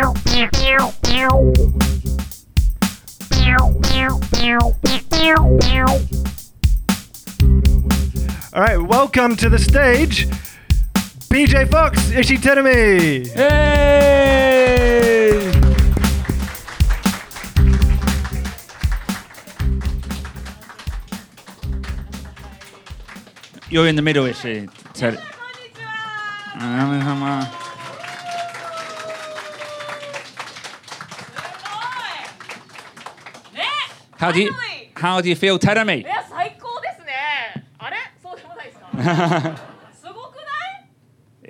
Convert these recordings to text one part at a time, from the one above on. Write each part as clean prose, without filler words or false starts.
All right, welcome to the stage, BJ Fox, Ishii Terumi. Hey! You're in the middle, Ishii. How do you feel, Terumi? いや最高ですね。あれそうでもないですか。すごくない？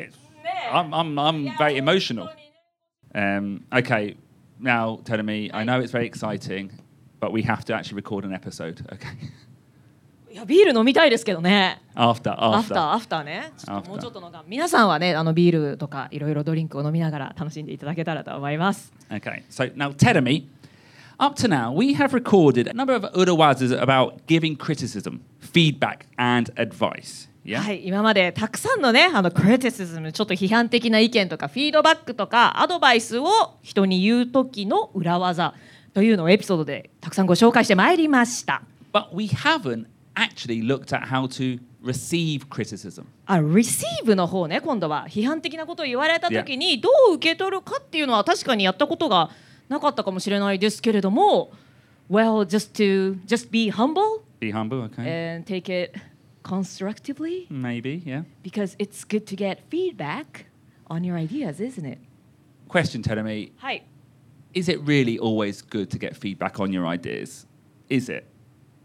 I'm very emotional. Okay, now Terumi, I know it's very exciting, but we have to actually record an episode. Okay. いやビール飲みたいですけどね。 After ね。ちょっともうちょっとのが皆さんはねビールとかいろいろドリンクを飲みながら楽しんでいただけたらと思います。 Okay, so now Terumi, up to now we have recorded a number of urawazas about giving criticism, feedback, and advice. Yeah? はい、今までたくさんのねクリティシズム、ちょっと批判的な意見とかフィードバックとかアドバイスを人に言う時の裏技というのをエピソードでたくさんご紹介してまいりました。 But we haven't actually looked at how to receive criticism. receive の方ね、今度は批判的なことを言われた時にどう受け取るかっていうのは確かにやったことがなかったかもしれないですけれども、well, just be humble, Be humble, okay? and take it constructively, Maybe, yeah. because it's good to get feedback on your ideas, isn't it? Question, Terumi. はい。 Is it really always good to get feedback on your ideas? Is it?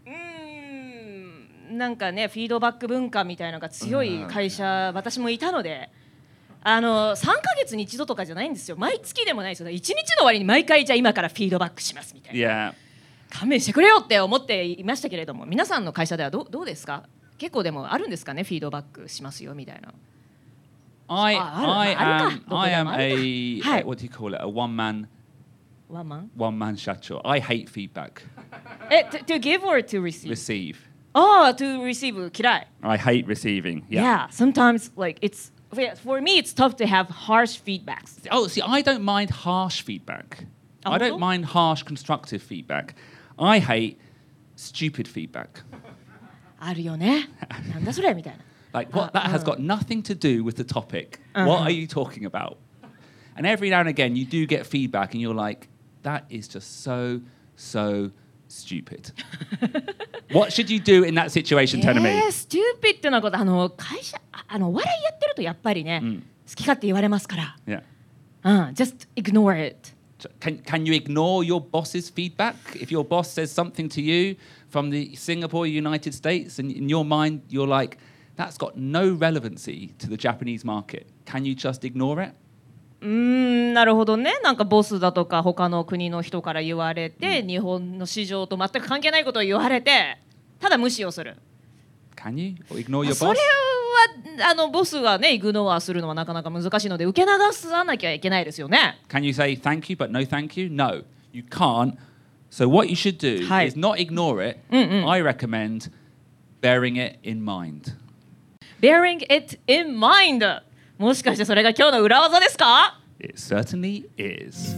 なんかね、フィードバック文化みたいなのが強い会社、私もいたので、3ヶ月に一度とかじゃないんですよ。毎月でもないですよ。1日の終わりに毎回じゃあ今からフィードバックしますみたいな。 Yeah. 勘弁してくれよって思っていましたけれども、皆さんの会社ではどうですか？結構でもあるんですかね、フィードバックしますよみたいな。 I am a Hi. what do you call it? A one man ワンマン shacho. I hate feedback. to give or to receive? Receive. To receive 嫌い。 I hate receiving. Yeah, sometimes like for me it's tough to have harsh feedbacks. Oh, see, I don't mind harsh feedback. I don't mind harsh constructive feedback. I hate stupid feedback. あるよね。なんだそれみたいな。 Like what that has got nothing to do with the topic. What are you talking about? And every now and again you do get feedback and you're like, that is just so stupid. What should you do in that situation, Terumi? Stupid ってのは会社お笑いやってるとやっぱりね、好き勝手言われますから。 Yeah. Just ignore it. Can you ignore your boss's feedback? If your boss says something to you from the Singapore, United States, and in your mind you're like, that's got no relevancy to the Japanese market. Can you just ignore it? なるほどね。なんかボスだとか他の国の人から言われて、日本の市場と全く関係ないことを言われて、ただ無視をする。 Can you ignore your boss? それはボスがねイグノアするのはなかなか難しいので受け流さなきゃいけないですよね。 Can you say thank you but no thank you? No, you can't. So what you should do is not ignore it. I recommend bearing it in mind. Bearing it in mind. もしかしてそれが今日の裏技ですか？ It certainly is.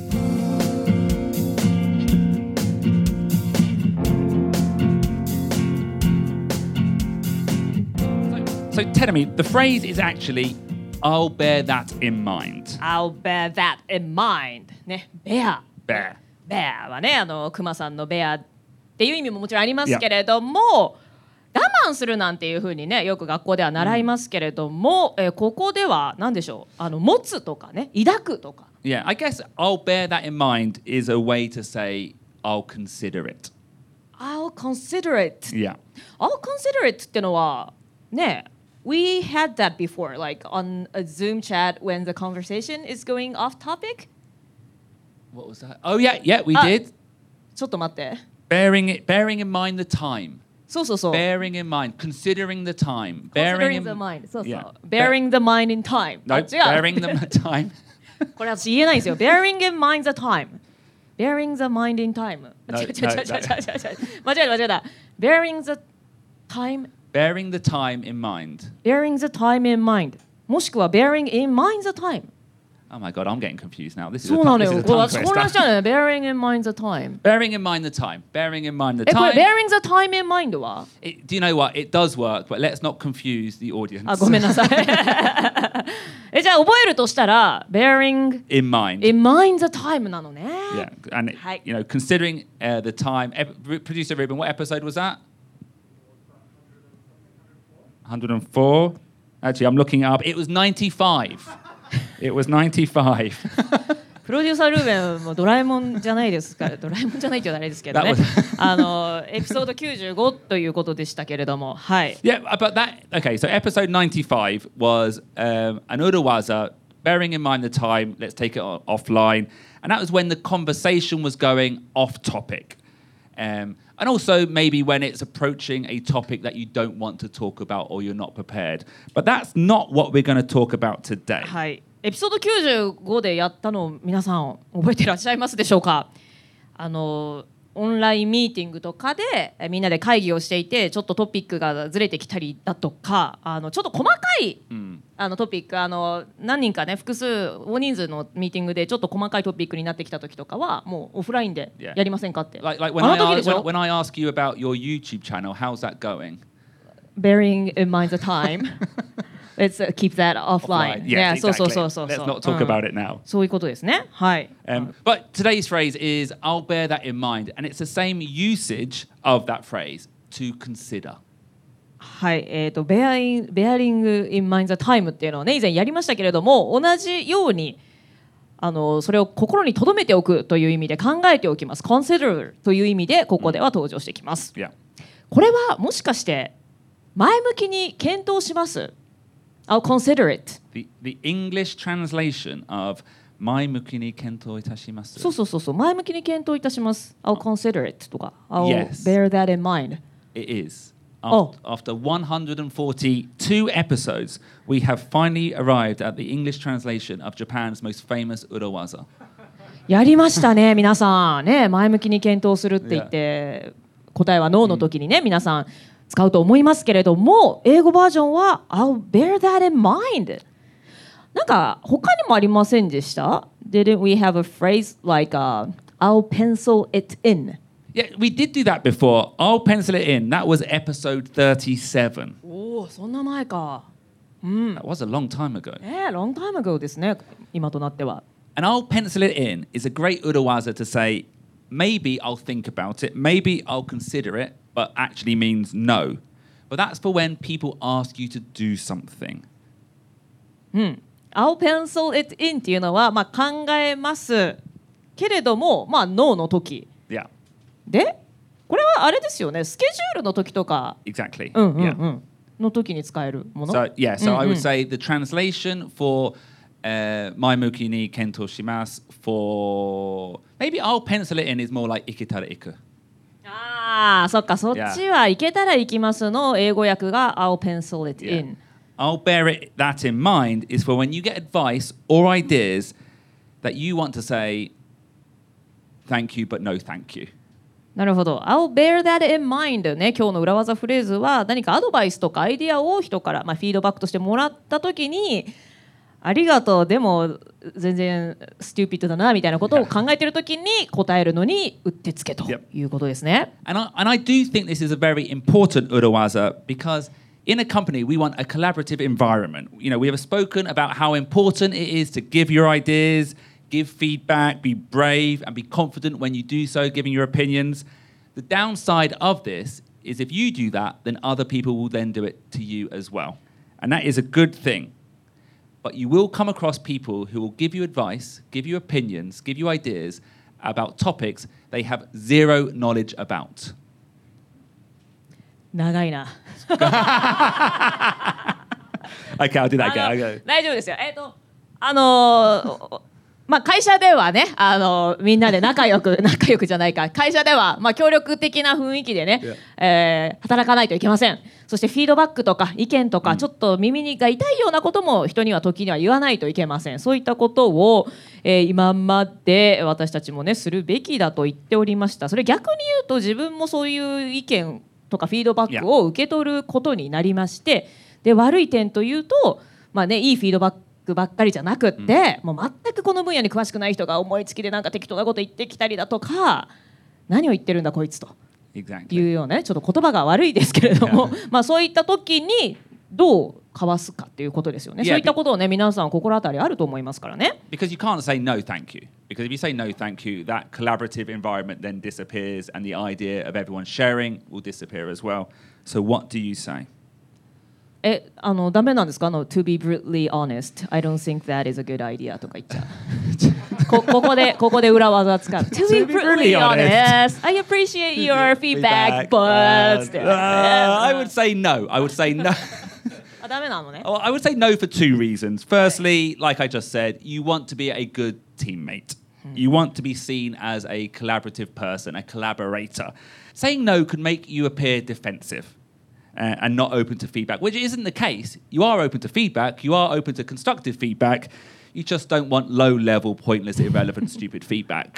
So Terumi, the phrase is actually I'll bear that in mind. I'll bear that in mind. ね、bear. Bear. bear はね、クマさんの bear っていう意味ももちろんありますけれども、我慢するなんていう風にね、よく学校では習いますけれども、ここでは何でしょう、持つとかね、抱くとか。 Yeah, I guess I'll bear that in mind is a way to say I'll consider it. I'll consider it. Yeah. I'll consider it ってのはね、we had that before, like on a Zoom chat when the conversation is going off topic. What was that? Oh yeah, we did. ちょっと待って。 Bearing in mind the time. そうそうそう。 Bearing in mind, considering the time. Considering the mind. そうそう。 Yeah. Bearing the mind in time. No, bearing the time. これ私言えないんですよ。Bearing in mind the time. Bearing the mind in time. 間違えた。Bearing the time. Bearing the time in mind. Bearing the time in mind. もしくは bearing in mind the time. Oh my god, I'm getting confused now. This is そうなのよ。 this is a これ tongue 私混乱し twister. ちゃうのよ。Bearing in mind the time. Bearing in mind the time. Bearing in mind the これ time. bearing the time in mind は Do you know what? It does work, but let's not confuse the audience. あ、ごめんなさい。じゃあ覚えるとしたら bearing In mind. in mind the time なのね。 Yeah, and Hi. considering the time. Producer Ruben, what episode was that? 104. Actually, I'm looking it up. It was 95. It was 95. プロデューサールーベンもドラえもんじゃないですから、ドラえもんじゃないって言うとあれですけどね。エピソード95ということでしたけれども、はい。 Yeah, but okay, so episode 95 was an Urawaza, bearing in mind the time, let's take it offline. And that was when the conversation was going off topic. And also maybe when it's approaching a topic that you don't want to talk about or you're not prepared. But that's not what we're going to talk about today. はい。エピソード95でやったのを皆さん覚えていらっしゃいますでしょうか。オンラインミーティングとかでみんなで会議をしていてちょっとトピックがずれてきたりだとかちょっと細かい、トピック何人かね複数大人数のミーティングでちょっと細かいトピックになってきた時とかはもうオフラインでやりませんかって。 Like あの時でしょ when I ask you about your YouTube channel, how's that going? Bearing in mind the time. Let's keep that offline. Yes, Yeah, exactly. そう。 Let's not talk about it now. そういうことですね。はい。 But today's phrase is, I'll bear that in mind. And it's the same usage of that phrase, to consider. はい、bearing in mind the time っていうのをね以前やりましたけれども同じようにそれを心に留めておくという意味で考えておきます。consider という意味でここでは登場してきます。 Yeah. これはもしかして前向きに検討します。I'll consider it. The English translation of 前向きに検討いたします。 そう前向きに検討いたします。I'll consider it とか I'll Yes. bear that in mind. It is. Oh. After 142 episodes, we have finally arrived at the English translation of Japan's most famous Urawaza. やりましたね皆さんね前向きに検討するって言って答えはノーの時にね皆さん使うと思いますけれども英語バージョンは I'll bear that in mind なんか他にもありませんでした Didn't we have a phrase like I'll pencil it in Yeah, we did do that before. I'll pencil it in. That was episode 37. おおそんな前か That was a long time ago. long time ago ですね今となっては And I'll pencil it in is a great Urawaza to say, maybe I'll think about it, maybe I'll consider it, but actually means no. But that's for when people ask you to do something. I'll pencil it in っていうのは、まあ、考えますけれども、まあ、ノーの時 Yeah, でこれはあれですよねスケジュールの時とか exactly. の時に使えるもの So, I would say the translation for Maimuki ni kento shimasu for maybe I'll pencil it in is more like iketara iku. ああそっかそっちは行けたら行きますの英語訳が I'll pencil it in I'll bear that in mind is for when you get advice or ideas that you want to say thank you but no thank you. なるほど I'll bear that in mind ね今日の裏技フレーズは何かアドバイスとかアイディアを人から、まあ、フィードバックとしてもらった時にありがとうでも全然ステューピッドだなみたいなことを考えている時に答えるのにうってつけということですね。 And I do think this is a very important urawaza because in a company we want a collaborative environment. You know, we have spoken about how important it is to give your ideas, give feedback, be brave and be confident when you do so, giving your opinions. The downside of this is if you do that, then other people will then do it to you as well. And that is a good thing. But you will come across people who will give you advice, give you opinions, give you ideas about topics they have zero knowledge about. 長いな。 Okay, I'll do that again. 大丈夫ですよ。まあ会社ではね、みんなで仲良くじゃないか。会社ではまあ協力的な雰囲気でね、働かないといけません。そしてフィードバックとか意見とか、ちょっと耳が痛いようなことも人には時には言わないといけません。そういったことを、今まで私たちもねするべきだと言っておりました。それ逆に言うと自分もそういう意見とかフィードバックを受け取ることになりまして、で悪い点というと、まあねいいフィードバッククばっかりじゃなくって、もう全くこの分野に詳しくない人が思いつきでなんか適当なこと言ってきたりだとか、何を言ってるんだこいつというようなね、ちょっと言葉が悪いですけれども、まあそういった時にどうかわすかっていうことですよね。そういったことをね、皆さん心当たりあると思いますからね。 Because you can't say no thank you. Because if you say no thank you, that collaborative environment then disappears and the idea of everyone sharing will disappear as well. So what do you say? ダメなんですか？To be brutally honest, I don't think that is a good idea とか言っちゃう。ここで裏技使う。To be brutally honest, I appreciate your feedback, but I would say no. I would say no. ダメなのね。 Well, I would say no for two reasons. Firstly, like I just said, you want to be a good teammate. You want to be seen as a collaborative person, a collaborator. Saying no could make you appear defensive and not open to feedback, which isn't the case. You are open to feedback. You are open to constructive feedback. You just don't want low-level, pointless, irrelevant, stupid feedback.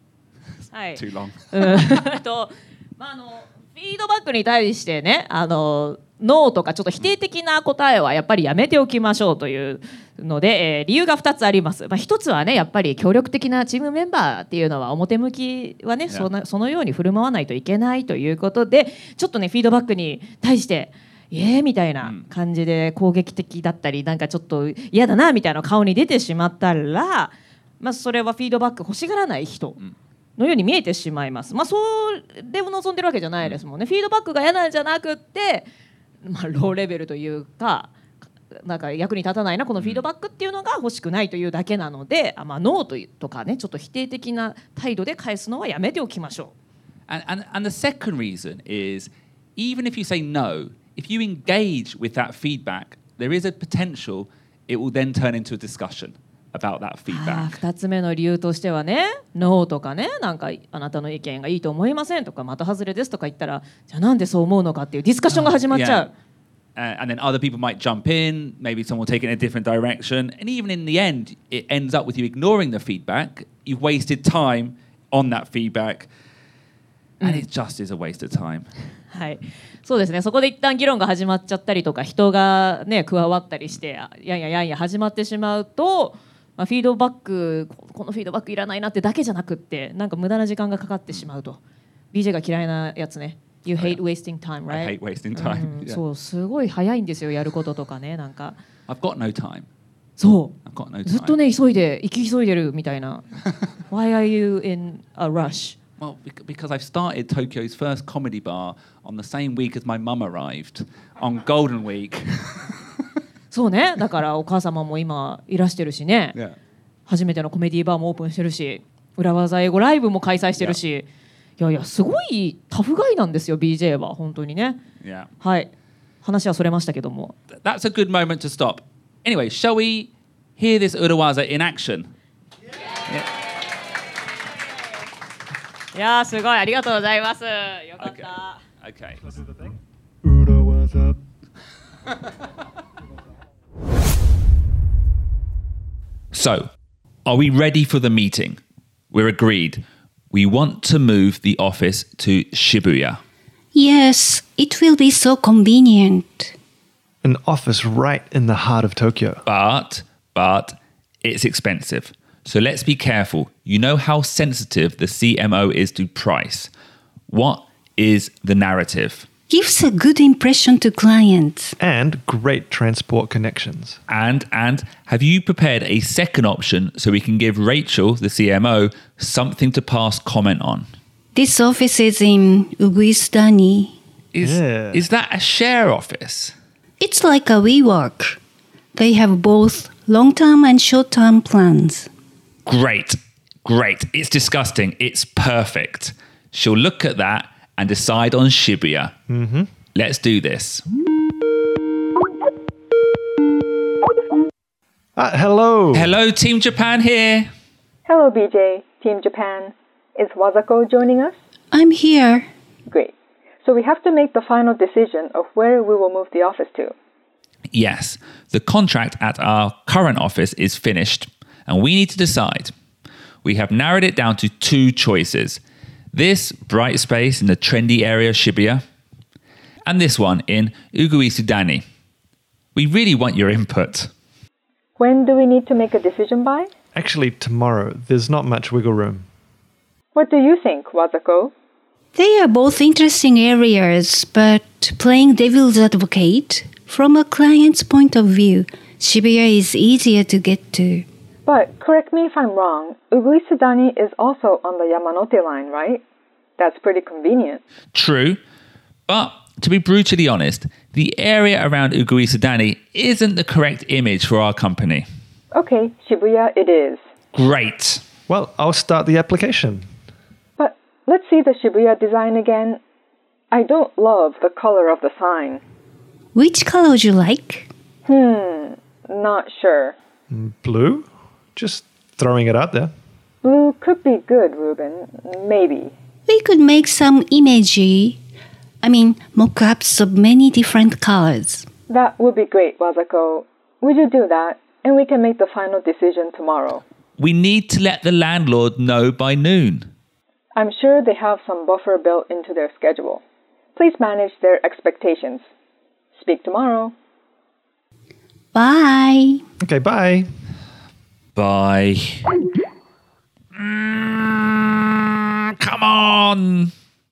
Too long. まあフィードバックに対してね、ノーとかちょっと否定的な答えはやっぱりやめておきましょうというので、理由が2つあります。まあ、1つはね、やっぱり協力的なチームメンバーっていうのは表向きはね、そのように振る舞わないといけないということで、ちょっとねフィードバックに対してみたいな感じで攻撃的だったり、なんかちょっと嫌だなみたいな顔に出てしまったら、まあ、それはフィードバック欲しがらない人のように見えてしまいます。まあ、それを望んでるわけじゃないですもんね。フィードバックが嫌なんじゃなくって、まあ、ローレベルというか、なんか役に立たないなこのフィードバックっていうのが欲しくないというだけなので、まあ、ノーとかね、ちょっと否定的な態度で返すのはやめておきましょう。 And the second reason is, even if you say no, if you engage with that feedback, there is a potential it will then turn into a discussion.About that feedback. 2つ目の理由としてはね、ノーとかね、なんかあなたの意見がいいと思いませんとか、的外れですとか言ったら、じゃあなんでそう思うのかっていうディスカッションが始まっちゃう。 And then other people might jump in, maybe someone will take it in a different direction, and even in the end, it ends up with you ignoring the feedback. You've wasted time on that feedback, and it just is a waste of time. はい、そうですね。そこで一旦議論が始まっちゃったりとか、人がね加わったりして、やんや始まってしまうと。まあ、フィードバック、このフィードバックいらないなってだけじゃなくって、なんか無駄な時間がかかってしまうと。BJ が嫌いなやつね。You hate wasting time, right? I hate wasting time. そう、すごい早いんですよ、やることとかね、なんか。 I've got no time. そう。 I've got no time. ずっとね、行き急いでるみたいな。Why are you in a rush? Well, because I've started Tokyo's first comedy bar on the same week as my mum arrived on Golden Week. そうね、だからお母様も今いらしてるしね、 Yeah. 初めてのコメディーバーもオープンしてるし、裏技英語ライブも開催してるし、いやすごいタフガイなんですよ BJ は本当にね。 Yeah. はい、話はそれましたけども。 That's a good moment to stop. Anyway, shall we hear this Urawaza in action? いやすごい、ありがとうございます。よかった。 Okay. Urawaza. So, are we ready for the meeting? We're agreed. We want to move the office to Shibuya. Yes, it will be so convenient. An office right in the heart of Tokyo. But it's expensive. So let's be careful. You know how sensitive the CMO is to price. What is the narrative? Gives a good impression to clients. And great transport connections. And have you prepared a second option so we can give Rachel, the CMO, something to pass comment on? This office is in Uguisudani. Is that a share office? It's like a WeWork. They have both long-term and short-term plans. Great. It's disgusting. It's perfect. She'll look at that and decide on Shibuya. Mm-hmm. Let's do this. Hello. Hello, Team Japan here. Hello, BJ, Team Japan. Is Wasako joining us? I'm here. Great. So we have to make the final decision of where we will move the office to. Yes, the contract at our current office is finished, and we need to decide. We have narrowed it down to two choices. This bright space in the trendy area of Shibuya, and this one in Uguisudani. We really want your input. When do we need to make a decision by? Actually, tomorrow. There's not much wiggle room. What do you think, Wazako? They are both interesting areas, but playing devil's advocate, from a client's point of view, Shibuya is easier to get to. But correct me if I'm wrong, Uguisudani is also on the Yamanote line, right? That's pretty convenient. True, but to be brutally honest, the area around Uguisudani isn't the correct image for our company. Okay, Shibuya it is. Great. Well, I'll start the application. But let's see the Shibuya design again. I don't love the color of the sign. Which color would you like? Not sure. Blue? Just throwing it out there. Blue could be good, Ruben. Maybe. We could make some mock-ups of many different colors. That would be great, Wazako. Would you do that? And we can make the final decision tomorrow. We need to let the landlord know by noon. I'm sure they have some buffer built into their schedule. Please manage their expectations. Speak tomorrow. Bye. Okay, bye. Bye. Come on.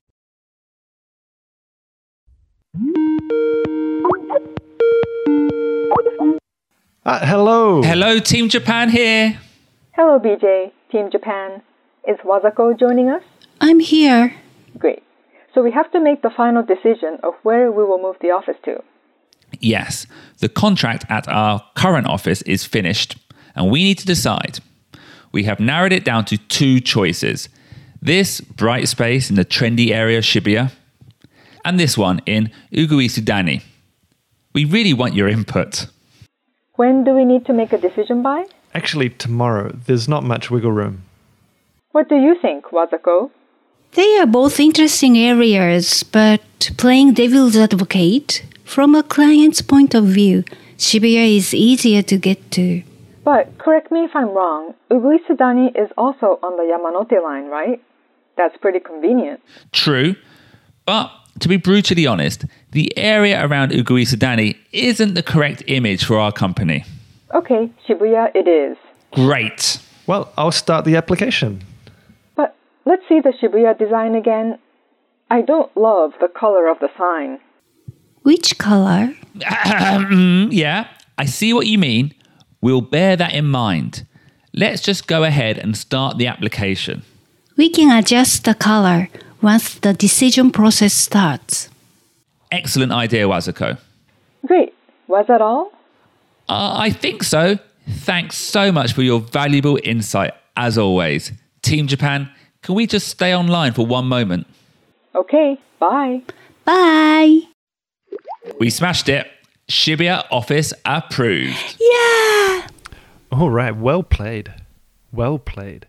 Hello. Hello, Team Japan here. Hello, BJ, Team Japan. Is Wazako joining us? I'm here. Great. So we have to make the final decision of where we will move the office to. Yes, the contract at our current office is finished, and we need to decide. We have narrowed it down to two choices. This bright space in the trendy area of Shibuya, and this one in Uguisudani. We really want your input. When do we need to make a decision by? Actually, tomorrow. There's not much wiggle room. What do you think, Wazako? They are both interesting areas, but playing devil's advocate, from a client's point of view, Shibuya is easier to get to. But correct me if I'm wrong, Uguisudani is also on the Yamanote line, right? That's pretty convenient. True, but to be brutally honest, the area around Uguisudani isn't the correct image for our company. Okay, Shibuya it is. Great. Well, I'll start the application. But let's see the Shibuya design again. I don't love the color of the sign. Which color? Yeah, I see what you mean. We'll bear that in mind. Let's just go ahead and start the application. We can adjust the color once the decision process starts. Excellent idea, Wazako. Great. Was that all? I think so. Thanks so much for your valuable insight, as always. Team Japan, can we just stay online for one moment? Okay, bye. Bye. We smashed it. Shibuya office approved. Yeah. All right, well played. Well played.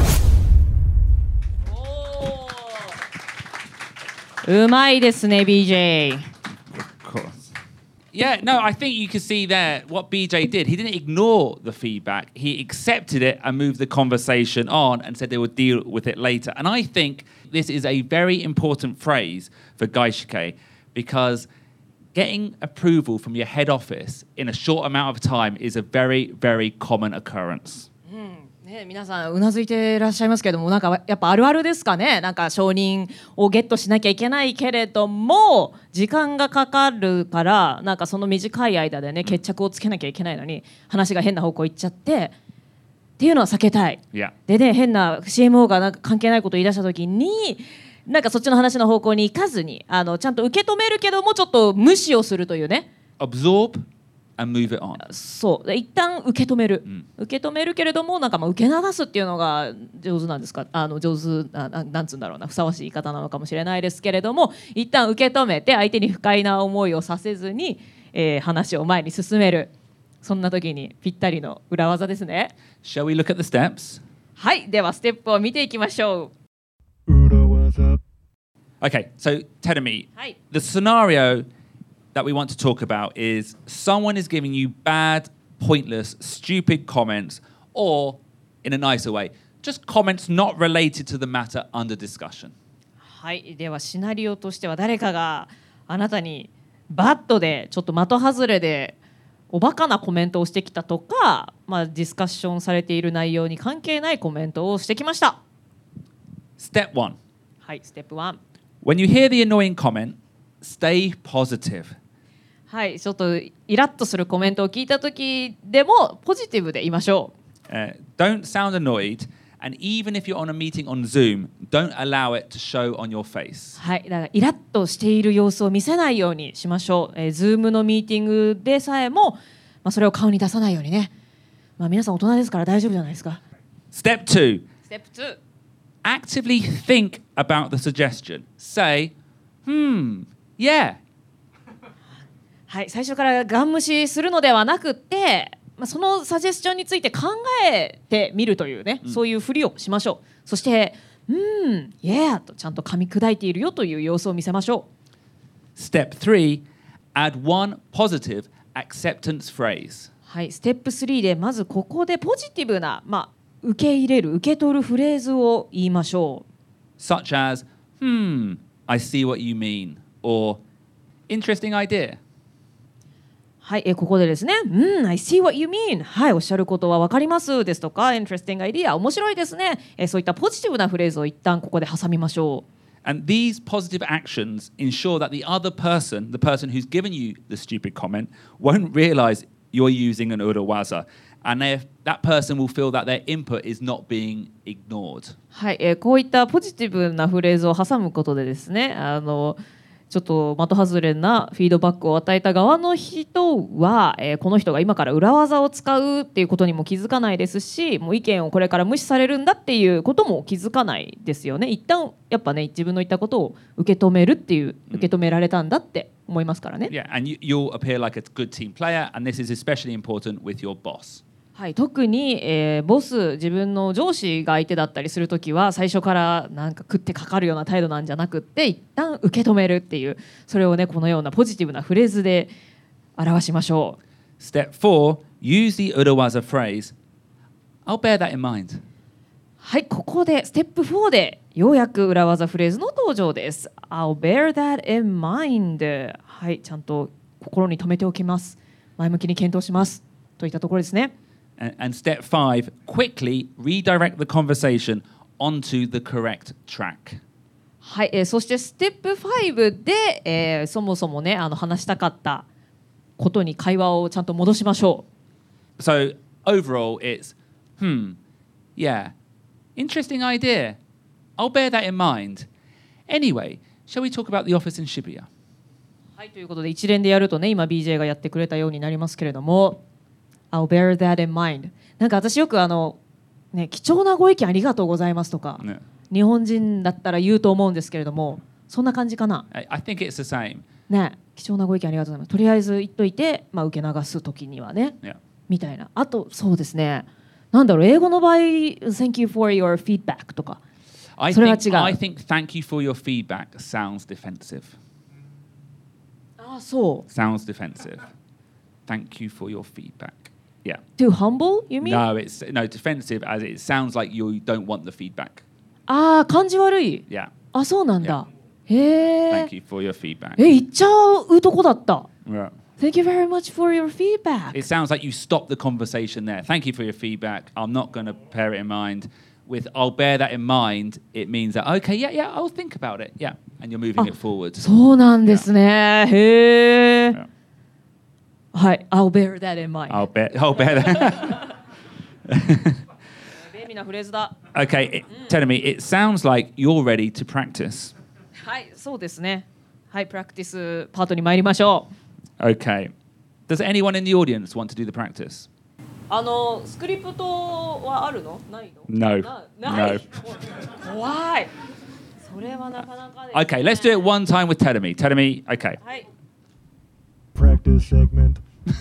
うまいですね BJ. Of course. Yeah, no, I think you can see there what BJ did. He didn't ignore the feedback. He accepted it and moved the conversation on and said they would deal with it later. And I think this is a very important phrase for Gaishike because getting approval from your head office in a short amount of time is a very, very common occurrence. ね、皆さんうなずいていらっしゃいますけども、なんかやっぱあるあるですかね。なんか承認をゲットしなきゃいけないけれども時間がかかるから、なんかその短い間でね決着をつけなきゃいけないのに話が変な方向行っちゃってっていうのは避けたい。 Yeah. でね、変な CMO がなんか関係ないことを言い出した時になんかそっちの話の方向に行かずにちゃんと受け止めるけどもちょっと無視をするというね。 Absorb and move it on. そうで一旦受け止める、受け止めるけれどもなんかまあ受け流すっていうのが上手なんですか、上手なんつうんだろうな、ふさわしい言い方なのかもしれないですけれども、一旦受け止めて相手に不快な思いをさせずに、話を前に進める、そんな時にぴったりの裏技ですね。 Shall we look at the steps? はい、ではステップを見ていきましょう。 Okay, so Tedemi, はい、 the scenario that we want to talk about is someone is giving you bad, pointless, stupid comments, or in a nicer way, just comments not related to the matter under discussion. はい、ではシナリオとしては誰かがあなたにバットでちょっと的外れでおバカなコメントをしてきたとか、まあ、ディスカッションされている内容に関係ないコメントをしてきました。 Step 1. はい、ステップ1。 When you hear the annoying comment, stay positive. はい、ちょっとイラッとするコメントを聞いた時でもポジティブでいましょう。 Don't sound annoyed, and even if you're on a meeting on Zoom, don't allow it to show on your face. はい、だからイラッとしている様子を見せないようにしましょう。Zoom のミーティングでさえも、まあ、それを顔に出さないようにね。まあ、皆さん大人ですから大丈夫じゃないですか。 Step 2. ステップ2。 Actively think about the suggestion. Say, yeah. はい、最初からガン無視するのではなくって、まあ、そのサジェスチョンについて考えてみるというね、そういうふりをしましょう。そしてyeah とちゃんと噛み砕いているよという様子を見せましょう。 Step 3. Add one positive acceptance phrase. はい、ステップ3でまずここでポジティブな、まあ、受け入れる受け取るフレーズを言いましょう。 Such as, I see what you mean, or interesting idea. はい、ここでですね、I see what you mean。はい、おっしゃることは分かりますですとか、interesting idea、面白いですね。そういったポジティブなフレーズを一旦ここで挟みましょう。 And these positive actions ensure that the other person, the person who's given you the stupid comment, won't realize you're using an urawaza. And that person will feel that their input is not being ignored. はい、こういったポジティブなフレーズを挟むことでですね、ちょっと的外れなフィードバックを与えた側の人は、この人が今から裏技を使うっていうことにも気づかないですし、もう意見をこれから無視されるんだっていうことも気づかないですよね。一旦やっぱね、自分の言ったことを受け止めるっていう、受け止められたんだって思いますからね。 Yeah, and you'll appear like a good team player, and this is especially important with your boss. はい、特に、ボス、自分の上司が相手だったりするときは最初からなんか食ってかかるような態度なんじゃなくって一旦受け止めるっていう、それをねこのようなポジティブなフレーズで表しましょう。 Step 4. Use the urawaza phrase, I'll bear that in mind. はい、ここでステップ4でようやく裏技フレーズの登場です。 I'll bear that in mind。 はい、ちゃんと心に留めておきます、前向きに検討しますといったところですね。 And step 5, quickly redirect the conversation onto the correct track. はい、そしてステップ5で、そもそもね話したかったことに会話をちゃんと戻しましょう。 So overall it's, yeah, interesting idea. I'll bear that in mind. Anyway, shall we talk about the office in Shibuya? はい、ということで一連でやるとね、今 BJ がやってくれたようになりますけれども、I'll bear that in mind。 なんか私よくね、貴重なご意見ありがとうございますとか、 ね、 日本人だったら言うと思うんですけれども、そんな感じかな。 I think it's the same. ね、貴重なご意見ありがとうございます。とりあえず言っといて、まあ、受け流す時にはね、 Yeah. みたいな。あとそうですね、なんだろう、英語の場合 Thank you for your feedback とか、それは違う。 I think thank you for your feedback sounds defensive. あ、そう。 Sounds defensive. Thank you for your feedback. Yeah. Too humble, you mean? No, it's defensive as it sounds like you don't want the feedback. ああ、感じ悪い。 Yeah. あ、そうなんだ。へえ。 Thank you for your feedback. 言っちゃうとこだった。 Yeah. Thank you very much for your feedback. It sounds like you stopped the conversation there. Thank you for your feedback. I'm not going to bear it in mind. With I'll bear that in mind, it means that, okay, yeah, I'll think about it. Yeah. And you're moving it forward. そうなんですね。へえ。 Yeah. はい、I'll bear that in mind. I'll bear that. 便利なフレーズだ。 Okay, tell me, it sounds like you're ready to practice. はい、そうですね。はい、プラクティスパートに参りましょう。 Okay. Does anyone in the audience want to do the practice? スクリプトはあるの？ないの？ No. ない。 No. 怖い。それはなかなかですね。 Okay, let's do it one time with Telemi. Telemi, okay. はい。 Practice segment.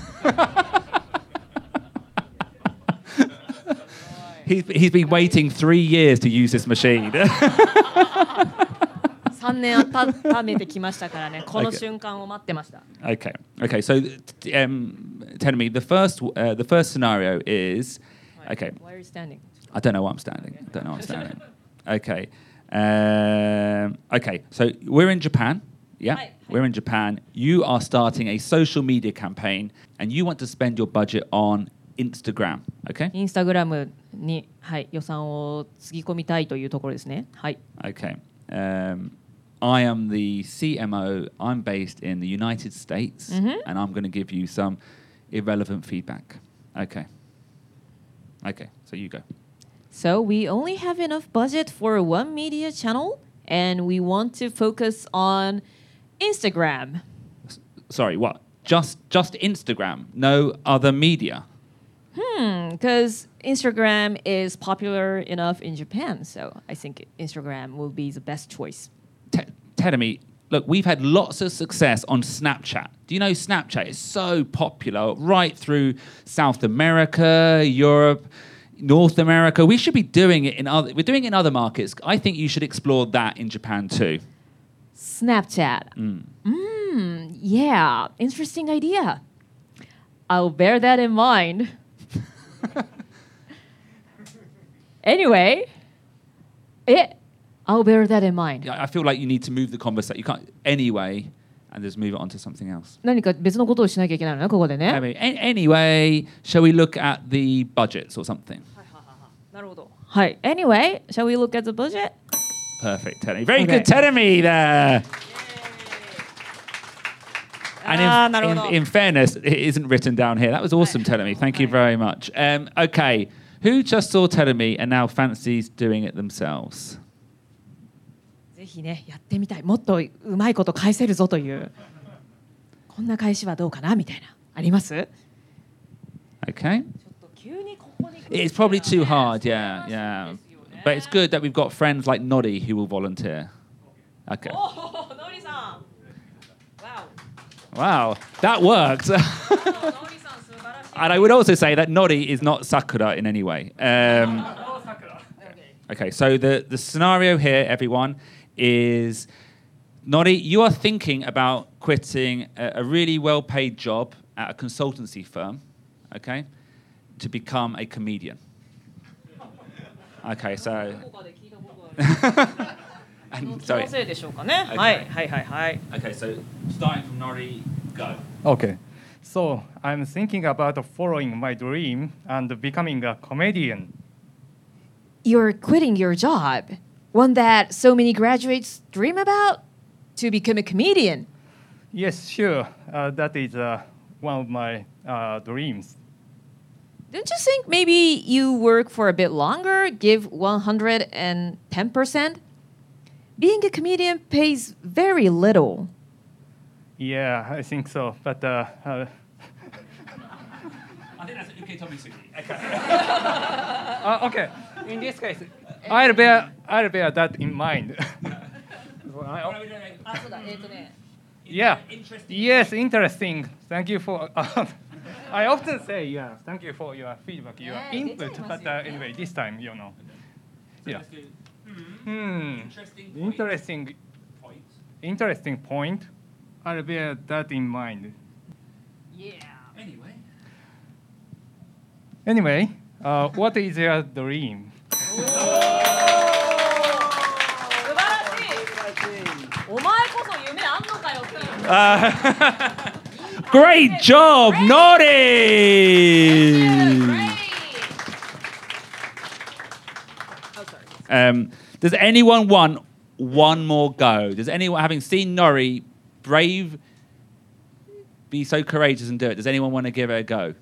He's been waiting 3 years to use this machine. 3年温めてきましたからね。この瞬間を待ってました。 Okay. So Telemi, the first scenario is, okay. Why are you standing? I don't know why I'm standing. Okay. Okay, so we're in Japan. Yeah, Hi. we're in Japan. You are starting a social media campaign and you want to spend your budget on Instagram, okay? インスタグラムに、はい、予算をつぎ込みたいというところですね。はい。 Okay. I am the CMO. I'm based in the United States, and I'm going to give you some irrelevant feedback. Okay. Okay, so you go. So we only have enough budget for one media channel, and we want to focus on Instagram. Sorry, what? Just Instagram, no other media. Because Instagram is popular enough in Japan, so I think Instagram will be the best choice. Terumi, look, we've had lots of success on Snapchat. Do you know Snapchat is so popular right through South America, Europe, North America? We should be doing it we're doing it in other markets. I think you should explore that in Japan too. Snapchat. Yeah, interesting idea. I'll bear that in mind. Anyway, I'll bear that in mind. I feel like you need to move the conversation. You can't anyway, and just move it on to something else. 何か別のことをしなきゃいけないのね、ここでね。 Anyway, shall we look at the budgets or something? なるほど。はい。Anyway, shall we look at the budget? Perfect, Terumi. Very Okay. good, Terumi there. And なるほど。 in fairness, it isn't written down here. That was awesome, Terumi. Thank you very much. Okay, who just saw Terumi and now fancies doing it themselves? ぜひね、やってみたい。もっとうまいこと返せるぞという。こんな返しはどうかなみたいな。あります？ Okay. ちょっと急にここに来る It's probably too hard, yeah. But it's good that we've got friends like Noddy who will volunteer. Okay. おお、のりさん。 Wow, that worked. ノリさん素晴らしい。 And I would also say that Noddy is not Sakura in any way. Okay, so the scenario here, everyone, is Noddy, you are thinking about quitting a really well-paid job at a consultancy firm, okay, to become a comedian. Okay, so... どこかで聞いたことある。 and, その sorry. せいでしょうかね。 Okay. はいはいはいはい。 Okay, so starting from Noddy, go. Okay. So I'm thinking about following my dream and becoming a comedian. You're quitting your job, one that so many graduates dream about, to become a comedian. Yes, sure. That is one of my dreams. Don't you think maybe you work for a bit longer, give 110%? Being a comedian pays very little. Yeah, I think so. But I think that's okay, Tommy Suki. Okay. okay. In this case, I'll bear that in mind. Yeah. Yes, interesting. Thank you for. I often say yeah. Thank you for your feedback, your input. But anyway, this time, Yeah. Interesting point. I'll bear that in mind. Yeah. Anyway, what is your dream? 素晴らしい。お前こそ夢あんのかよっていう。 Great job, Noddy! Does anyone want one more go? Does anyone, having seen Nori brave, be so courageous and do it, does anyone want to give it a go?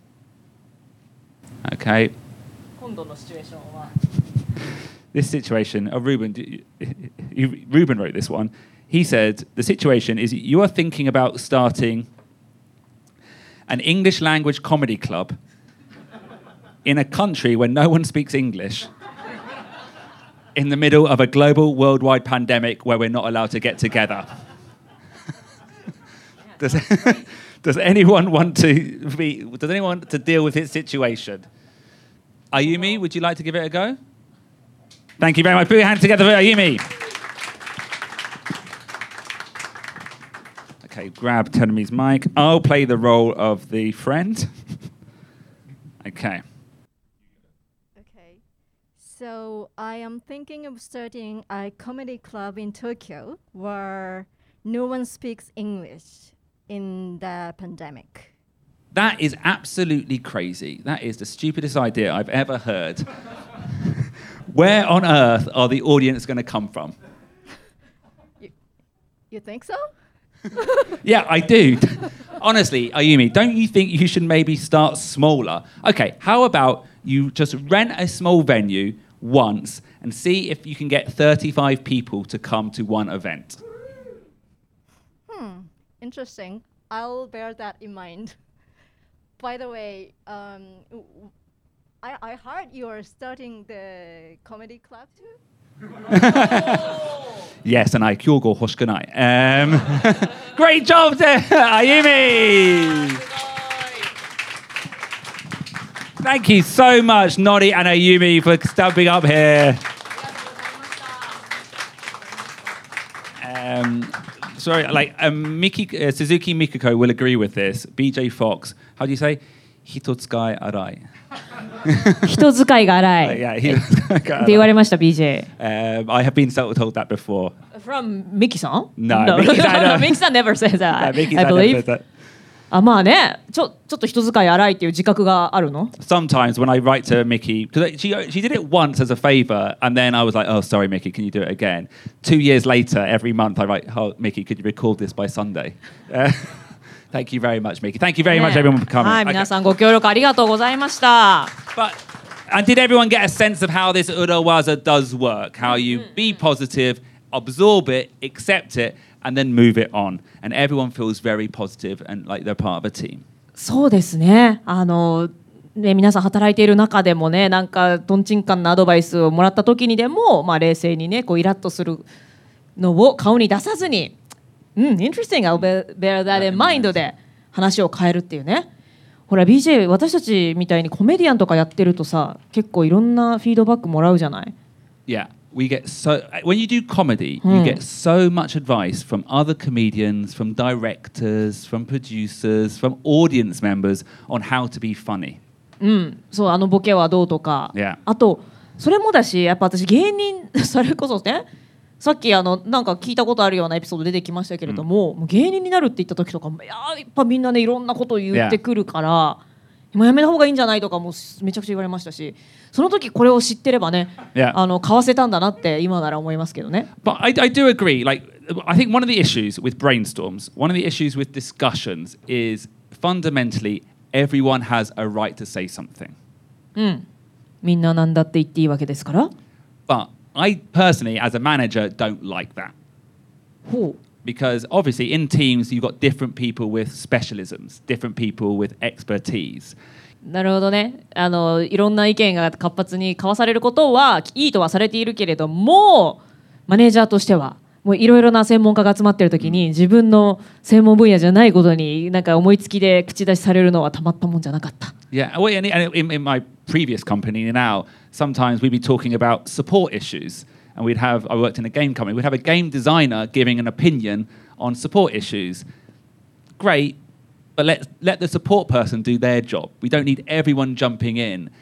Okay. 今度のシチュエーションは。 This situation, Ruben wrote this one. He said, the situation is you are thinking about starting an English language comedy club in a country where no one speaks English in the middle of a global worldwide pandemic where we're not allowed to get together. Does anyone want to deal with this situation? Ayumi, would you like to give it a go? Thank you very much. Put your hands together for Ayumi. Okay, grab Terumi's mic. I'll play the role of the friend. Okay. Okay. So I am thinking of starting a comedy club in Tokyo where no one speaks English in the pandemic. That is absolutely crazy. That is the stupidest idea I've ever heard. Where on earth are the audience going to come from? You think so? Yeah, I do. Honestly, Ayumi, don't you think you should maybe start smaller? Okay, how about you just rent a small venue once and see if you can get 35 people to come to one event? Interesting. I'll bear that in mind. By the way, I heard you're starting the comedy club too? Yes, and I kyogo hoshikunai. Great job there, Ayumi! Thank you so much, Nori and Ayumi, for stepping up here. Sorry, Suzuki Mikiko will agree with this. BJ Fox, how do you say? Hitotsukai arai. 人使いが荒い Yeah, って言われました BJ I have been told that before. From Miki さん No, Mikiさん no. Miki さん never says that Miki I never believe says that. あまあねちょっと人使い荒いっていう自覚があるの Sometimes when I write to Mickey, because she did it once as a favor, and then I was like, oh, sorry, Mickey, can you do it again? 2 years later, every month I write, oh, Mickey, could you record this by Sunday? Thank you very much, Mickey. Thank you very much, everyone, for coming. はい、皆さんご協力ありがとうございました。 And did everyone get a sense of how this Urawaza does work? How you be positive, absorb it, accept it, and then move it on. And everyone feels very positive and like they're part of a team. そうですね。ね、皆さん働いている中でもね、なんかとんちんかんなアドバイスをもらった時にでも、まあ、冷静にね、こうイラッとするのを顔に出さずに、interesting, I'll bear that in mind で話を変えるっていうね。ほら BJ 私たちみたいにコメディアンとかやってるとさ結構いろんなフィードバックもらうじゃない Yeah, we get so when you do comedy, you get so much advice from other comedians, from directors, from producers, from audience members on how to be funny. そうボケはどうとか、 Yeah. あとそれもだしやっぱ私芸人それこそねさっきなんか聞いたことあるようなエピソード出てきましたけれども、もう芸人になるって言った時とかやっぱみんなねいろんなことを言ってくるから、もうやめた方がいいんじゃないとかもめちゃくちゃ言われましたしその時これを知ってればね、かわせたんだなって今なら思いますけどね。 But I do agree. Like, I think one of the issues with brainstorms, one of the issues with discussions is fundamentally everyone has a right to say something. みんななんだって言っていいわけですから。 But I personally, as a manager, don't like that. Because obviously in teams, you've got different people with specialisms, different people with expertise. なるほどね。いろんな意見が活発に交わされることはいいとはされているけれども、マネージャーとしては、もういろいろな専門家が集まっているときに、自分の専門分野じゃないことになんか思いつきで口出しされるのはたまったもんじゃなかった。 Yeah, well, in my previous company now, sometimes we'd be talking about support issues. And I worked in a game company, we'd have a game designer giving an opinion on support issues. Great, but let the support person do their job. We don't need everyone jumping in.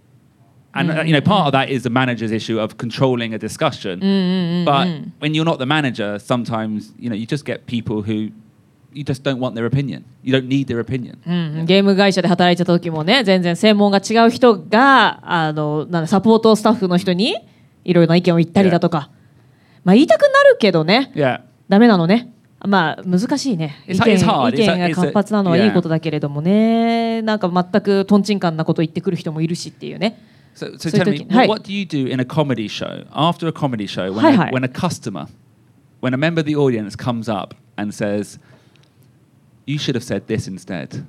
And part of that is the manager's issue of controlling a discussion. But when you're not the manager, sometimes you just get people who you just don't want their opinion. You don't need their opinion. ゲーム会社で働いてた時もね、全然専門が違う人がサポートスタッフの人にいろいろな意見を言ったりだとか、まあ言いたくなるけどね、ダメなのね。まあ難しいね。意見が活発なのはいいことだけれどもね、なんか全くトンチンカンなこと言ってくる人もいるしっていうね。 So tell me, what do you do in a comedy show, after a comedy show, when a customer, when a member of the audience comes up and says, you should have said this instead.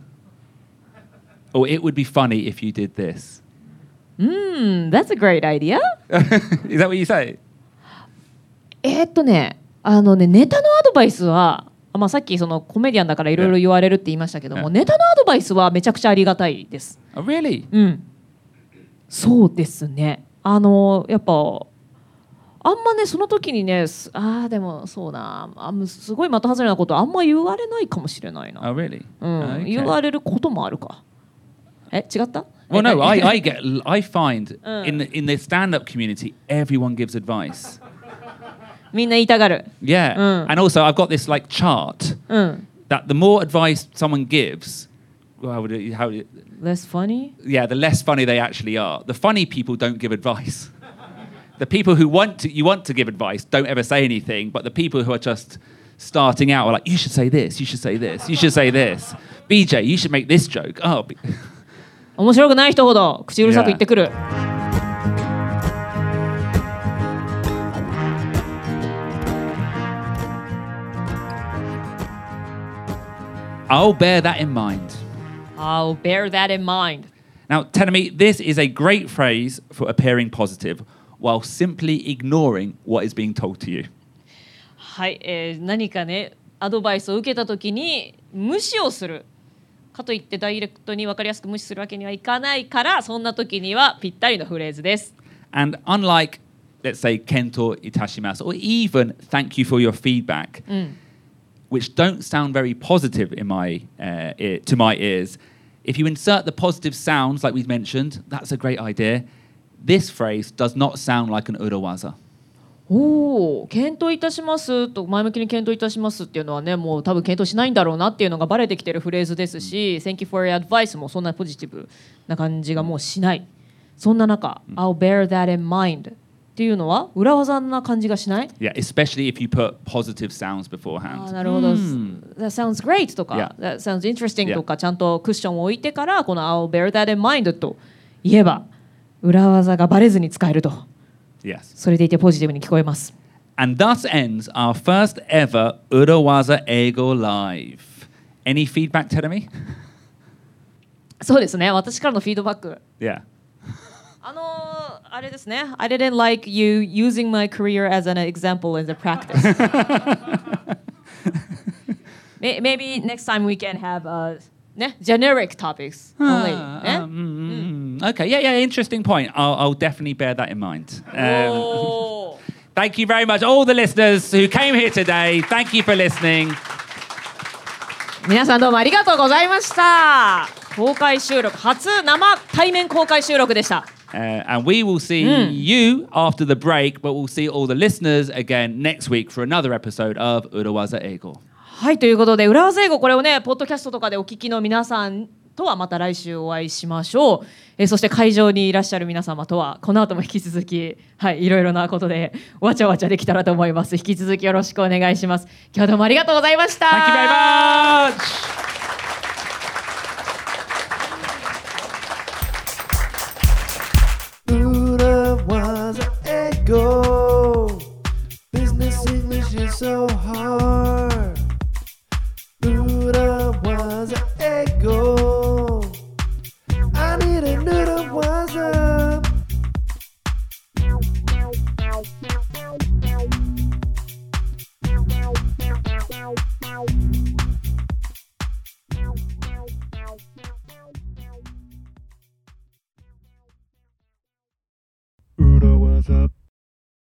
Or it would be funny if you did this. That's a great idea. Is that what you say? ネタのアドバイスは、まあ、さっきそのコメディアンだからいろいろ言われるって言いましたけども、ネタのアドバイスはめちゃくちゃありがたいです。 Oh, really? そうですね。やっぱあんまねその時にねでもそうなすごい的外れなことあんま言われないかもしれないな。 Oh, really? Okay. 言われることもあるか。違った？ Well, no, I find in the stand-up community everyone gives advice. みんな言いたがる。 Yeah. And also, I've got this like chart that the more advice someone gives, Less funny? Yeah, the less funny they actually are. The funny people don't give advice. The people who want to give advice don't ever say anything, but the people who are just starting out are like, you should say this, you should say this, you should say this. BJ, you should make this joke. Oh. 面白くない人ほど口うるさく言ってくる。 I'll bear that in mind. I'll bear that in mind. Now, Tenemi, this is a great phrase for appearing positive while simply ignoring what is being told to you. はい、何かねアドバイスを受けたときに無視をするかといってダイレクトに分かりやすく無視するわけにはいかないから、そんな時にはぴったりのフレーズです。 And unlike, let's say, Kento itashimasu or even thank you for your feedback, which don't sound very positive in my to my ears, if you insert the positive sounds like we've mentioned, that's a great idea. This phrase does not sound like an urawaza. おお、検討いたしますと前向きに検討いたしますっていうのはね、もう多分検討しないんだろうなっていうのがバレてきてるフレーズですし、Thank you for your advice もそんなポジティブな感じがもうしない。そんな中、I'll bear that in mind っていうのは裏技な感じがしない？ Yeah, especially if you put positive sounds beforehand. あ、なるほど。That sounds great とか、That sounds interesting とかちゃんとクッションを置いてからこの I'll bear that in mind と言えば裏技がバレずに使えると。 Yes. それでいてポジティブに聞こえます。 And thus ends our first ever Urawaza Eigo Live. Any feedback, Teremi? そうですね。私からのフィードバック。 Yeah. あれですね。I didn't like you using my career as an example in the practice. Maybe next time we can have generic topics only. Okay, yeah, interesting point. I'll definitely bear that in mind. Thank you very much, all the listeners who came here today. Thank you for listening. 皆さんどうもありがとうございました。公開収録、初生対面公開収録でした。 And we will see you after the break, but we'll see all the listeners again next week for another episode of Urawaza Eigo. はい、ということで裏技英語、これをねポッドキャストとかでお聞きの皆さんとはまた来週お会いしましょう。そして会場にいらっしゃる皆様とはこの後も引き続き、はい、いろいろなことでわちゃわちゃできたらと思います。引き続きよろしくお願いします。今日はどうもありがとうございました。 Thank you very much. Urawaza Eigo. Business English is so hard. Urawaza Eigo. I need an Urawaza. Urawaza.